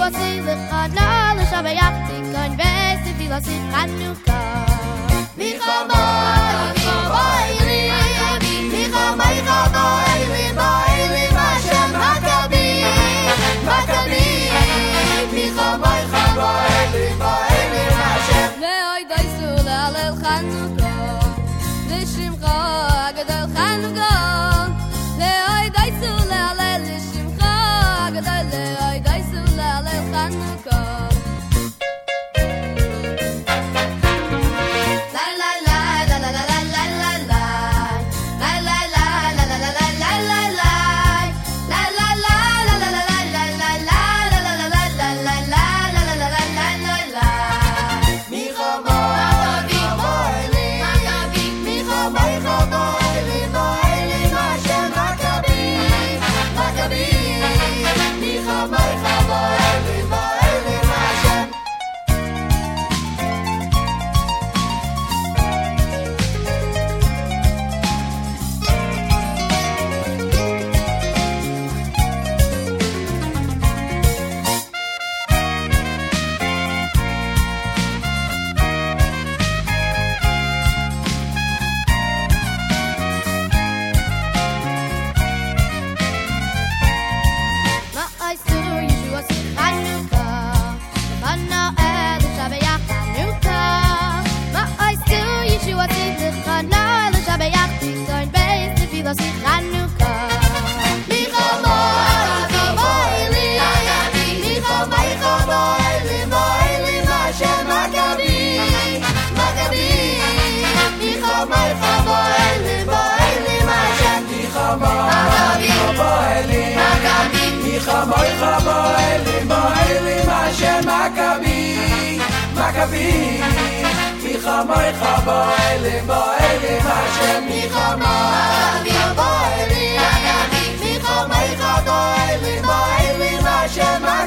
עושים וחנה לשבח תיקון וסביב עושים חנוכה מחמאי חמאי לי מחמאי חמאי לי באי לי מהשם מכבי מכבי מחמאי חמאי לי באי לי מהשם ואוי דייסו להלל חנוכה לשמחה גדול חנוכה ואוי דייסו להלל לשמחה גדול ואוי דייסו להלל חנוכה חמוי חמוי לימוי לימה שמכבי מכבי מחמוי חמוי לימוי לימה שמכבי חמוי לימוי מחמוי חמוי לימוי לימה שמכבי